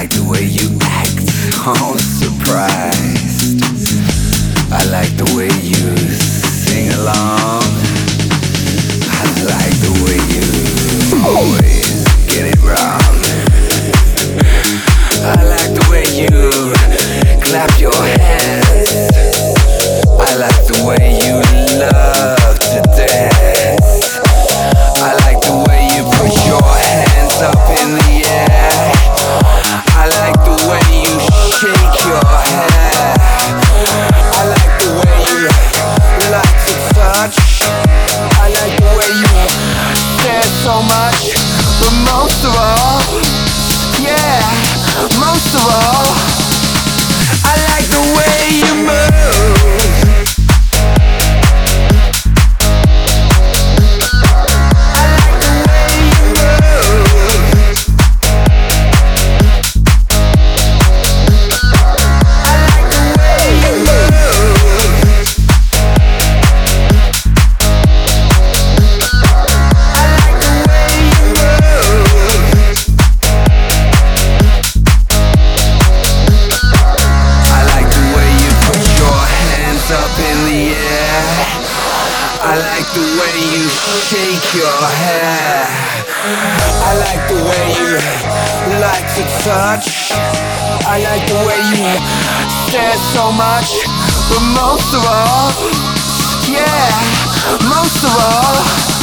like the way you act, all surprised. I like the way you sing along. I like the way you always get it wrong. I like the way you clap your hands. I like the way you love to dance. I like the way you put your hands up in the air. I like the way you shake your hair. I like the way you like to touch. I like the way you stare so much. But most of all, yeah, most of all, I like the way you move. I like the way you shake your hair. I like the way you like to touch. I like the way you stare so much. But most of all, yeah, most of all,